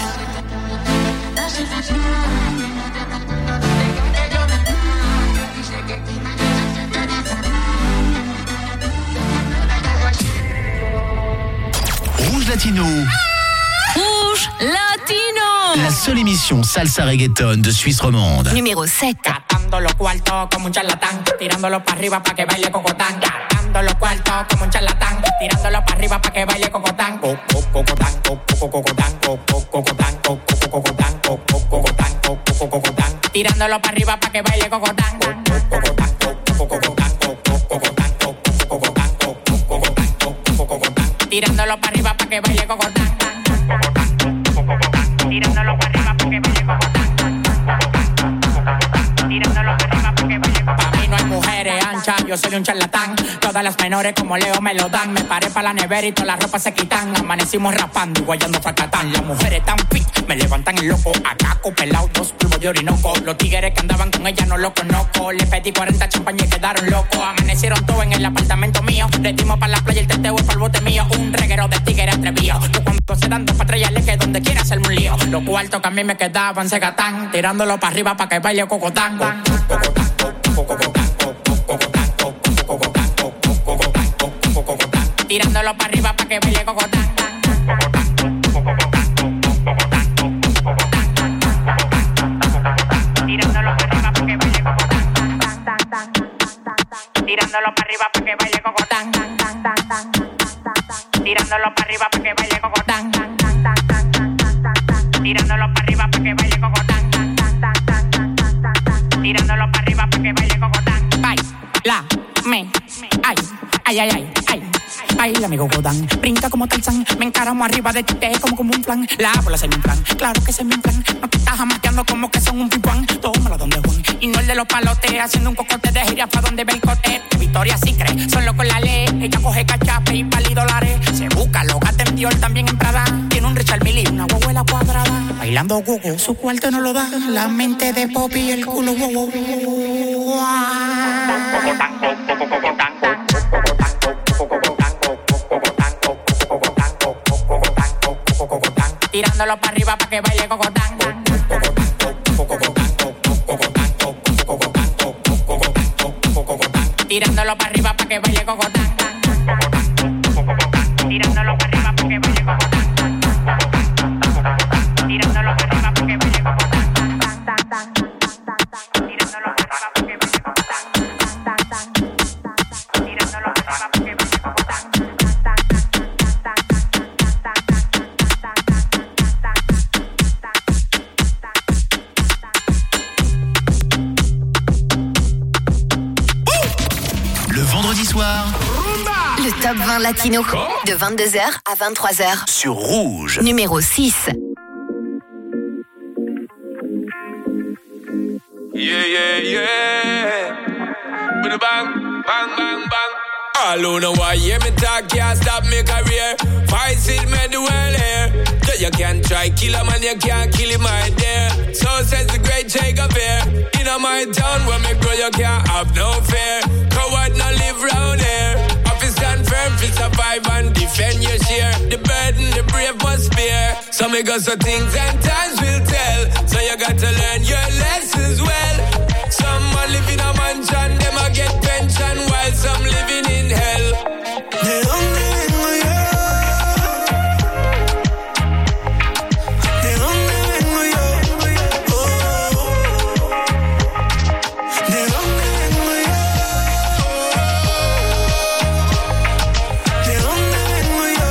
Speaker 1: Rouge Latino.
Speaker 7: Rouge Latino.
Speaker 1: La seule émission salsa reggaeton de Suisse romande.
Speaker 2: Numéro sept.
Speaker 18: Gastando los cuartos como un charlatán, tirándolo para arriba pa' que baile cocotán. Gastando los cuartos como un charlatán, tirándolo para arriba pa' que baile cocotán. Cocotán, cocotán, cocotán, cocotán, cocotán, cocotán. Tirándolo para arriba pa' que baile cocotán. Cocotán, cocotán, cocotán, cocotán, cocotán. Tirándolo para arriba pa' que baile cocotán. Tirándolo para arriba porque baile cocotán. Tirándolo para arriba porque baile cocotán. Pa' mí no hay mujeres anchas, yo soy un charlatán. Todas las menores como Leo me lo dan. Me paré pa' la nevera y todas las ropas se quitan. Amanecimos rapando y guayando fracatán. Las mujeres tan fit, me levantan el loco. Acá pelado, dos polvos de orinoco. Los tigres que andaban con ella no los conozco. Le pedí cuarenta champañas y quedaron locos. Amanecieron todos en el apartamento mío. Le dimos pa' la playa, el teteo es pa'l bote mío. Un reguero de tigres atrevido. Yo cuando se dan dos patrullas que donde quiera hacerme un lío. Los cuartos que a mí me quedaban se gatán. Tirándolo para arriba pa' que baile cocotán. Cocotán, cocotán, cocotán, cocotán, cocotán, cocotán. Tirándolo para arriba pa' que baile cocotán. Tirándolo para arriba pa' que baile cocotán. Tirándolo para arriba pa' que baile cocotán. Tirándolo para arriba pa' que baile cocotán. Tirándolo para arriba pa' que baile cocotán. Tirándolo para arriba pa' que baile cocotán. Baila, me, ay, ay, ay, ay, ay. Baila, amigo Godán, brinca como Tarzán. Me encaramo arriba de ti, te como como un flan. La bola se me inflan, claro que se me inflan. No te estás amateando como que son un pipuán. Tómalo donde Juan, y no el de los palotes. Haciendo un cocote de gira pa' donde ve el cote. Victoria sí cree, solo con la ley. Ella coge cachape y pali dólares. Se busca, lo gata en Dior, también en Prada. Tiene un Richard Mille y una guaguela cuadrada. Bailando gogo, su cuarto no lo da. La mente de Poppy y el culo wow, wow, wow. Tirándolo para arriba pa' que baile cocotán. Tirándolo para arriba pa' que baile cocotán. Tirándolo para arriba pa' que baile cocotán. Tirándolo para arriba pa' que baile cocotán. Tirándolo para arriba pa' que baile cocotán. Tirándolo para arriba pa' que baile cocotán.
Speaker 1: Le vendredi soir,
Speaker 2: Le top vingt latino de vingt-deux heures à vingt-trois heures
Speaker 1: sur Rouge.
Speaker 2: Numéro six.
Speaker 14: Yeah, yeah, yeah. With a bang, bang, bang, bang. All who know why hear me talk can't stop me career. Fight it, me the world here. Yeah, you can't try kill a man, you can't kill him right there. So says the great Shakespeare. In my town where me grow, you can't have no fear. Coward not live round here. Office stand firm, fi survive and defend your share. The burden, the brave must bear. So me got some things and times will tell. So you got to learn your lessons well. Some man live in a mansion, them a get pension, while some living in hell.
Speaker 12: ¿De dónde vengo yo? ¿De dónde vengo yo? Oh. ¿De dónde vengo yo? ¿De dónde vengo yo?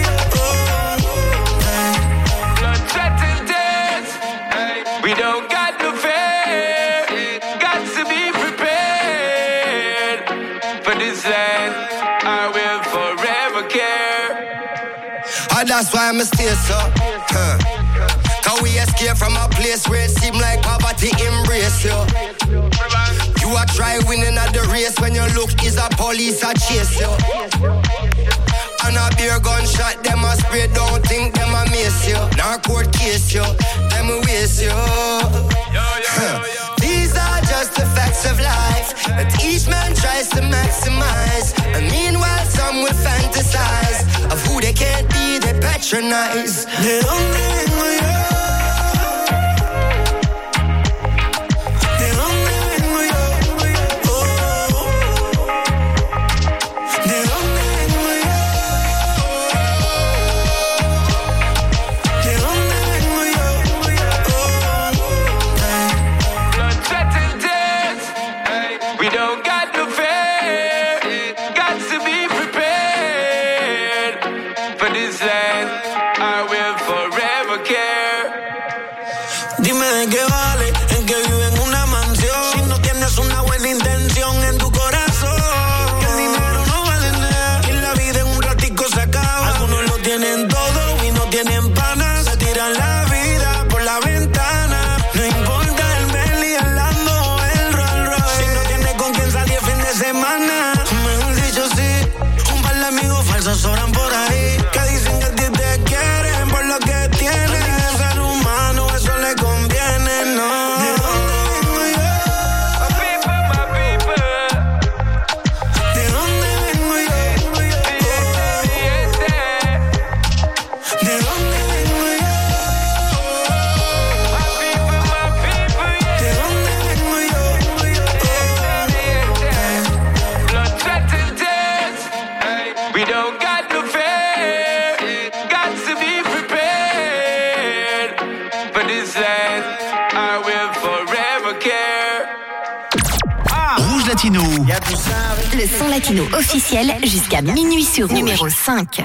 Speaker 12: Oh.
Speaker 14: Blood, sweat and tears. We don't got no fear. Got to be prepared for this land. I will forever care.
Speaker 19: And that's why I'm stay so. Huh. Cause we escape from a place where it seem like poverty embrace you. You a try winning at the race when your look is a police a chase you. And a beer gunshot, them a spray, don't think them a miss you. Now court case you, them a waste you. Huh. These are just the facts of life that each man tries to maximize. And meanwhile some will fantasize of who they can't be, they patronize.
Speaker 12: ¿De dónde vengo yo? ¿De dónde vengo yo? Oh. ¿De dónde vengo yo? ¿De dónde vengo yo? Oh.
Speaker 14: Blood, sweat and tears. We don't got no fear. Got to be prepared for this land. I will forever care.
Speaker 4: Dime de qué vale el que vive en una mansión si no tienes una buena intención en tu corazón. Que el dinero no vale nada y la vida en un ratico se acaba. Algunos lo tienen todo y no tienen panas. Se tiran la vida por la ventana. No importa el Bentley, el Lambo o el Rolls Royce. Si no tienes con quien salir fin de semana, mejor dicho sí. Un par de amigos falsos oran por ahí que dicen que a ti te quieren por lo que tienes. Al ser humano eso le conviene, no.
Speaker 12: ¿De dónde vengo yo?
Speaker 14: My people, my people.
Speaker 12: ¿De dónde vengo yo?
Speaker 14: Yes, yes.
Speaker 12: ¿De dónde vengo yo?
Speaker 14: My people, my people.
Speaker 12: ¿De dónde vengo yo?
Speaker 14: Blood, sweat and tears. We don't got no fear. Got to be prepared for this land. I will forever care.
Speaker 1: Rouge Latino.
Speaker 2: Le son latino officiel jusqu'à minuit sur Rouge. Numéro cinq.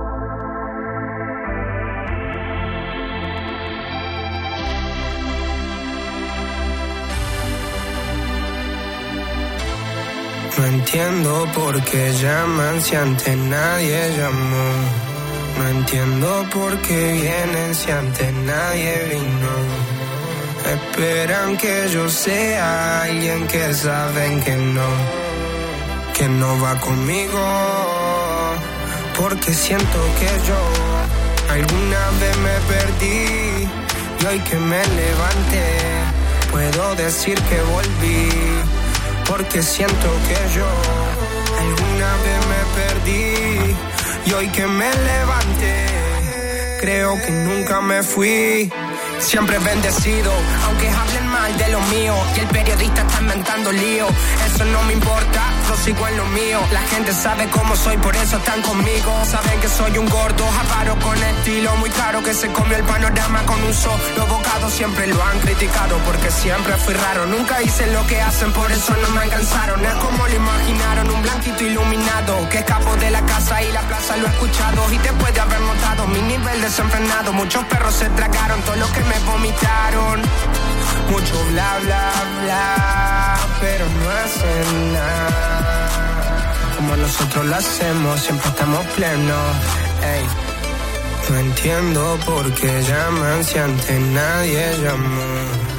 Speaker 4: No entiendo por qué llaman si antes nadie llamó. No entiendo por qué vienen si antes nadie vino. Esperan que yo sea alguien que saben que no, que no va conmigo. Porque siento que yo alguna vez me perdí y hoy que me levanté puedo decir que volví. Porque siento que yo alguna vez me perdí y hoy que me levanté creo que nunca me fui. Siempre bendecido, aunque hablen mal de lo mío y el periodista está inventando lío. Eso no me importa, yo sigo en lo mío. La gente sabe cómo soy, por eso están conmigo. Saben que soy un gordo, avaro con estilo muy caro, que se comió el panorama con un solo bocado. Siempre lo han criticado porque siempre fui raro. Nunca hice lo que hacen, por eso no me alcanzaron. Es como lo imaginaron, un blanquito iluminado que escapó de la casa y la plaza lo he escuchado. Y después de haber notado mi nivel desenfrenado, muchos perros se tragaron todo lo que me vomitaron. Mucho bla bla bla, pero no hacen nada como nosotros lo hacemos, siempre estamos plenos. Ey. No entiendo por qué llaman si antes nadie llamó.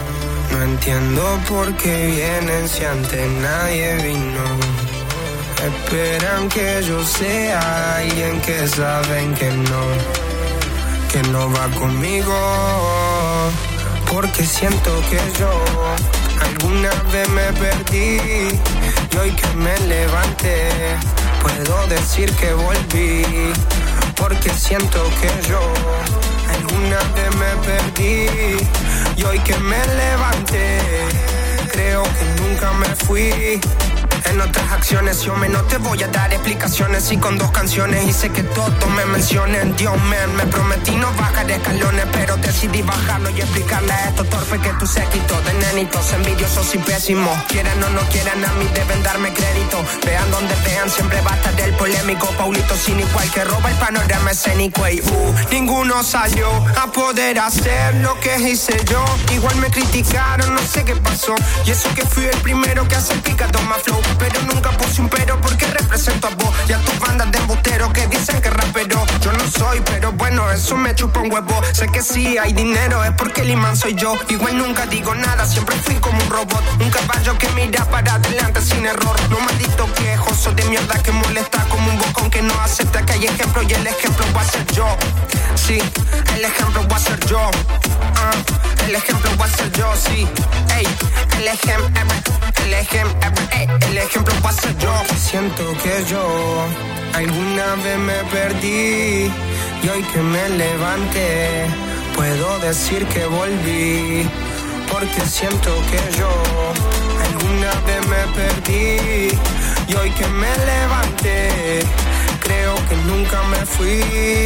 Speaker 5: No entiendo por qué vienen si antes nadie vino. Esperan que yo sea alguien que saben que no, que no va conmigo. Porque siento que yo alguna vez me perdí y hoy que me levanté puedo decir que volví. Porque siento que yo alguna vez me perdí y hoy que me levanté creo que nunca me fui. En otras acciones yo me no te voy a dar explicaciones. Y con dos canciones hice que todos me mencionen. Dios man, me prometí no bajar escalones, pero decidí bajarlo y explicarle a estos torpes que tú séquito de nenitos envidiosos y pésimos. Quieran o no quieran, a mí deben darme crédito. Vean donde vean, siempre va a estar el polémico Paulito sin igual que roba el panorama escénico. Y uh, ninguno salió a poder hacer lo que hice yo. Igual me criticaron, no sé qué pasó. Y eso que fui el primero que hace el picado más flow. Pero nunca puse un pero porque represento a vos y a tus bandas de embusteros que dicen que rapero yo no soy, pero bueno, eso me chupa un huevo. Sé que sí hay dinero, es porque el imán soy yo. Igual nunca digo nada, siempre fui como un robot. Un caballo que mira para adelante sin error. No maldito quejoso de mierda que molesta como un bocón que no acepta que hay ejemplo y el ejemplo va a ser yo. Sí, el ejemplo va a ser yo. uh, El ejemplo va a ser yo, sí. Ey, el ejemplo, el ejemplo, ey, el ejemplo va a ser yo. Siento que yo alguna vez me perdí y hoy que me levanté puedo decir que volví. Porque siento que yo alguna vez me perdí y hoy que me levanté creo que nunca me fui.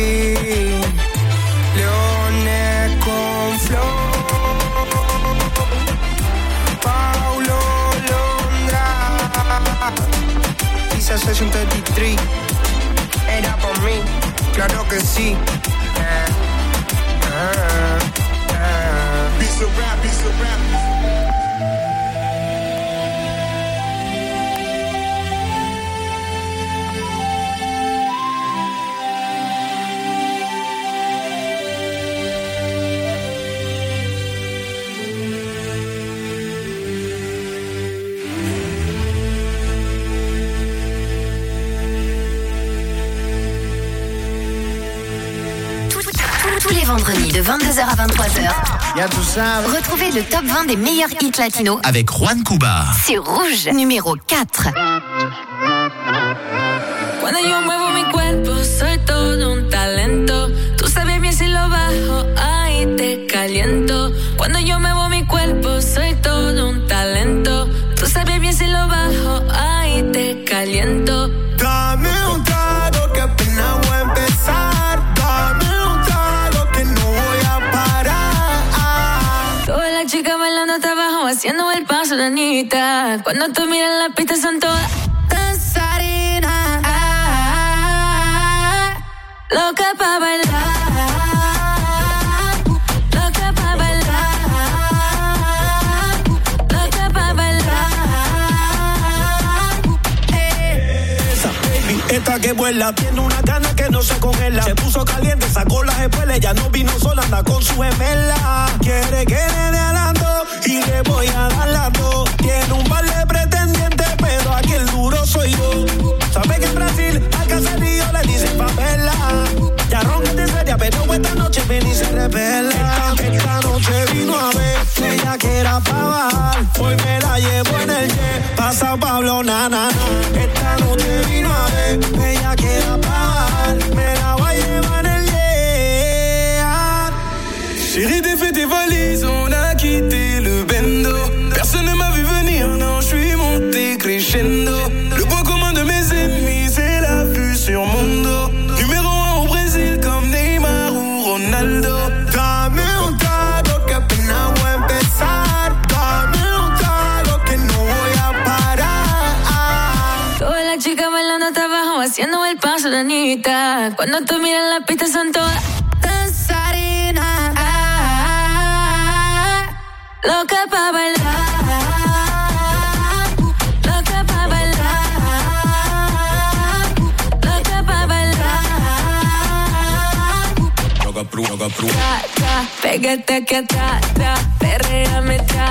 Speaker 5: Leones con flow, Paulo Londra, Pisa Session treinta y tres, era por mí, claro que sí. Ah, ah, ah. Piece of rap, piece of rap.
Speaker 2: Tous les vendredis de vingt-deux heures à vingt-trois heures.
Speaker 3: Y'a tout ça.
Speaker 2: Retrouvez le top vingt des meilleurs hits latinos
Speaker 1: avec Juan Cuba.
Speaker 2: Sur Rouge, numéro quatre.
Speaker 7: Cuando yo muevo mi cuerpo, soy todo un talento. Tú sabes bien si lo bajo, ahí te caliento. Cuando yo muevo mi cuerpo, soy todo un talento. Tú sabes bien si lo bajo, ahí te caliento.
Speaker 12: Dame un trago que apenas voy a empezar. Dame un trago que no voy a parar.
Speaker 7: Todas las chicas bailando hasta abajo, haciendo el paso de Anita. Cuando tú miras la pista son todas danzarinas. Loca pa' bailar, loca pa' bailar, loca pa' bailar.
Speaker 12: Esa baby, esta que vuela, tiene una gana que no se congela. Se puso caliente, sacó las espuelas, ya no vino sola, anda con su gemela. Quiere que le dé alando y le voy a dar las dos. Tiene un par de pretendientes, pero aquí el duro soy yo. Sabe que en Brasil al caserío le dicen Pamela. Ya roncate seria, pero esta noche ven y se revela. Esta, esta noche vino a ver, ella que era pa' bajar. Hoy me la llevo en el jet, pasa Pablo, na, na, na. Esta noche vino a ver, ella que era pa' bajar. Me la voy a llevar en el jet.
Speaker 15: Chérie, t'es fait tes valises, on a quitté le bendo. Personne ne m'a vu venir, non, je suis monté crescendo. Le point commun de mes ennemis, c'est la vue sur mon dos. Numéro un au Brésil comme Neymar ou Ronaldo.
Speaker 12: Dame un trago que apenas voy a empezar. Dame un trago que no voy a parar.
Speaker 7: Todas las chicas bailando hasta abajo, haciendo el paso de Anita. Cuando tú miras la pista son todas danzarinas. Loca pa' bailar, loca pa' bailar, loca pa' bailar.
Speaker 15: Loca pru, loca pru.
Speaker 7: Tra, tra, pégate aquí atrás, tra, perréame tra,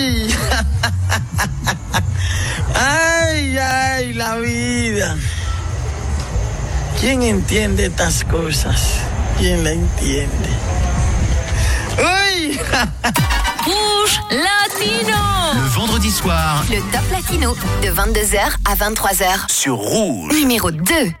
Speaker 20: ¡Ay! ¡Ay, ay, la vida! ¿Quién entiende estas cosas? ¿Quién la entiende? ¡Uy!
Speaker 2: Rouge Latino.
Speaker 1: Le vendredi soir,
Speaker 2: Le Top Latino de vingt-deux heures à vingt-trois heures.
Speaker 1: Sur Rouge.
Speaker 2: Numéro deux.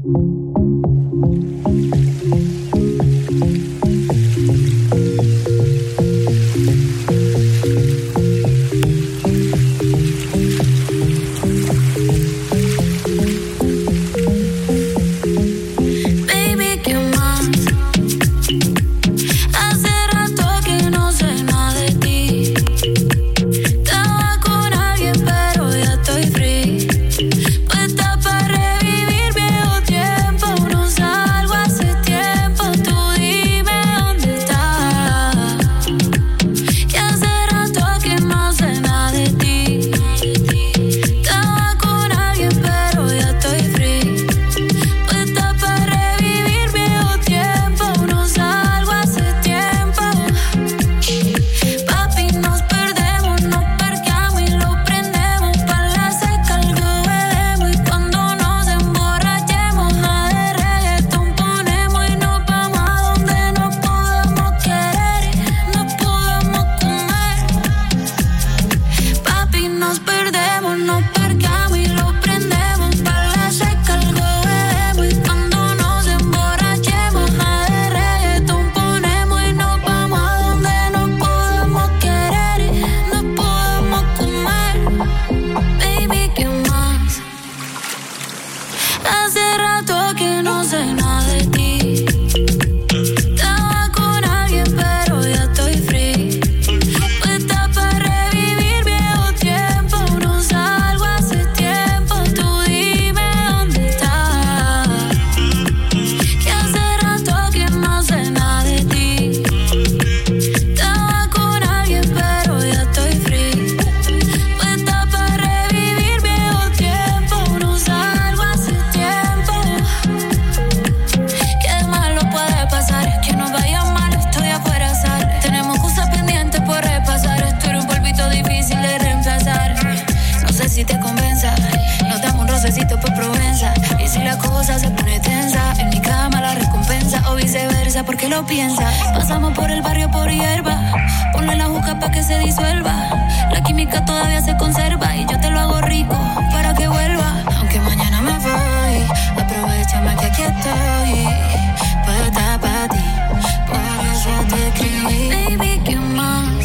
Speaker 7: Porque lo piensa. Pasamos por el barrio por hierba. Ponle la juca pa' que se disuelva. La química todavía se conserva. Y yo te lo hago rico para que vuelva. Aunque mañana me voy, aprovechame que aquí estoy. Puedo estar pa' ti. Por eso te escribí. Baby, ¿qué más?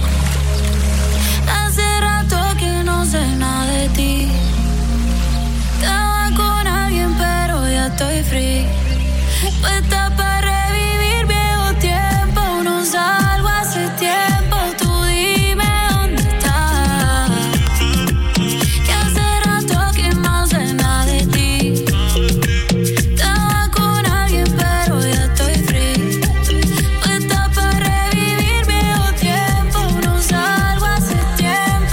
Speaker 7: Hace rato que no sé nada de ti. Estaba con alguien pero ya estoy free. Puesta para revivir viejo tiempo. No salgo hace tiempo. Tú dime dónde estás. Que hace rato que no sé nada de ti. Estaba con alguien pero ya estoy free. Puesta para revivir viejo tiempo. No salgo hace tiempo.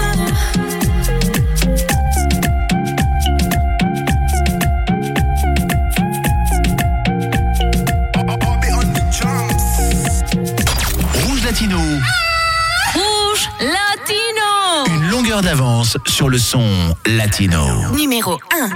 Speaker 1: Latino.
Speaker 2: Rouge Latino.
Speaker 1: Une longueur d'avance sur le son latino.
Speaker 2: Numéro un.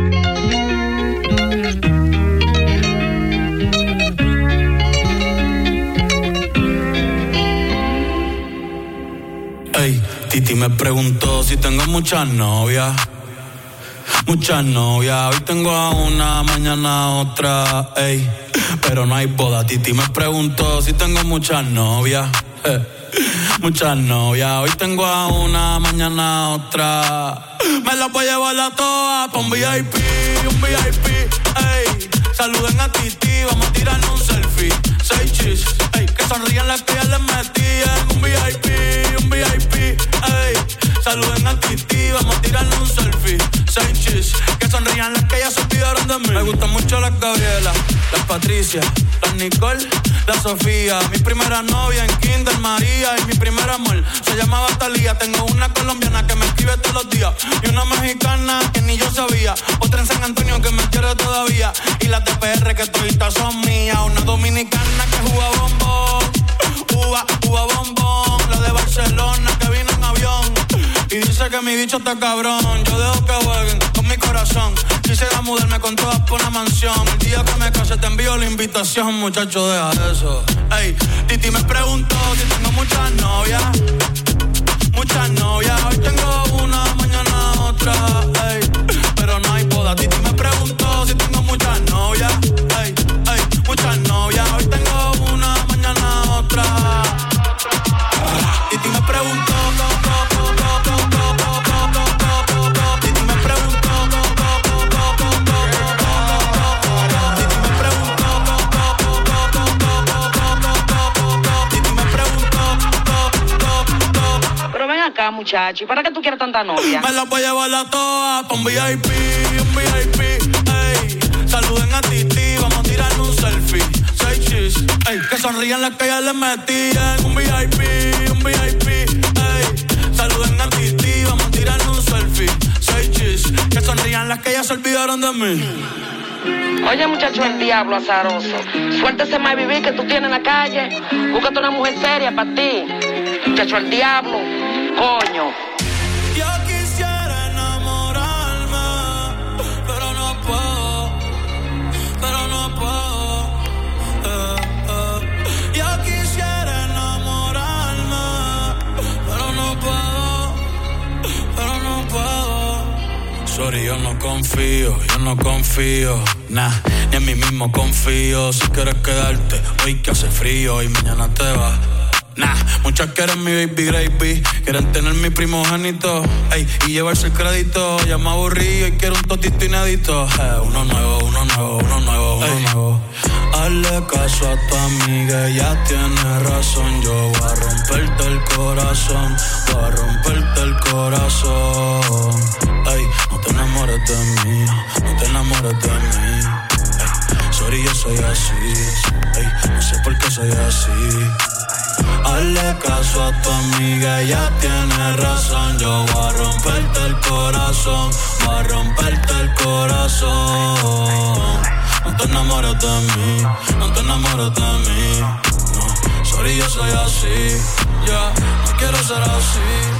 Speaker 4: Ey, Titi me preguntó si tengo muchas novias. Muchas novias, hoy tengo a una, mañana a otra, ey. Pero no hay boda. Titi me preguntó si tengo muchas novias. Eh. Muchas novias, hoy tengo a una, mañana a otra. Me las voy a llevar a todas pa' un V I P, un V I P, ey. Saluden a Titi, vamos a tirarnos un selfie. Seis chis, ey, que sonrían las que ya les metían. Un V I P, un V I P, ey. Saluden a Titi, vamos a tirarnos un selfie. Seis chis, que sonrían las que ya se olvidaron de mí. Me gustan mucho las Gabriela, las Patricia, las Nicole, la Sofía. Mi primera novia en Kinder María. Y mi primer amor se llamaba Talía. Tengo una colombiana que me escribe todos los días. Y una mexicana que ni yo sabía. Otra en San Antonio que me quiere todavía. Y las de P R que toditas son mías. Una dominicana que juega bombón. Uva, uva bombón. La de Barcelona que vino en avión. sé que mi bicho está cabrón. Yo dejo que jueguen con mi corazón. Quisiera mudarme con todas por una mansión. El día que me case te envío la invitación, muchacho, deja eso. Ey, Titi me preguntó si tengo muchas novias. Muchas novias, hoy tengo una, mañana otra. Ey, pero no hay boda. Titi me preguntó si tengo muchas novias. Ey, ey, muchas novias, hoy tengo una, mañana otra. Titi me preguntó, Titi me preguntó, Titi me preguntó.
Speaker 21: Pero ven acá, muchacho, ¿y para qué tú quieres tanta novia?
Speaker 4: Me la voy a llevar a todas pa' un V I P, un V I P, ey. Saluden a Titi, vamos a tirar un selfie. Seis chis, ey. Que sonrían las que ya les metían. Un V I P, un V I P, ey. Saluden a Titi, vamos a tirar un selfie. Seis chis, que sonrían las que ya se olvidaron de mí.
Speaker 21: Oye, muchacho, el diablo azaroso. Suéltese más vivir que tú tienes en la calle. Búscate una mujer seria para ti. Muchacho, el diablo, coño.
Speaker 4: Yo quisiera enamorarme, pero no puedo, pero no puedo. Eh, eh. Yo quisiera enamorarme, pero no puedo, pero no puedo. Sorry, yo no confío, yo no confío, nah, ni en mí mismo confío. Si quieres quedarte, hoy que hace frío y mañana te vas. Nah, muchas quieren mi baby gravy, quieren tener mi primogénito, ey, y llevarse el crédito. Ya me aburrí y quiero un totito inédito. Eh, uno nuevo, uno nuevo, uno nuevo, uno ey. nuevo. Hazle caso a tu amiga, ella tiene razón. Yo voy a romperte el corazón, voy a romperte el corazón. Ey, no te enamores de mí, no te enamores de mí. Ey, sorry, yo soy así, ey, no sé por qué soy así. Hazle caso a tu amiga, ella tiene razón. Yo voy a romperte el corazón, voy a romperte el corazón. No te enamores de mí, no te enamores de mí. No, sorry, yo soy así, ya, yeah, no quiero ser así.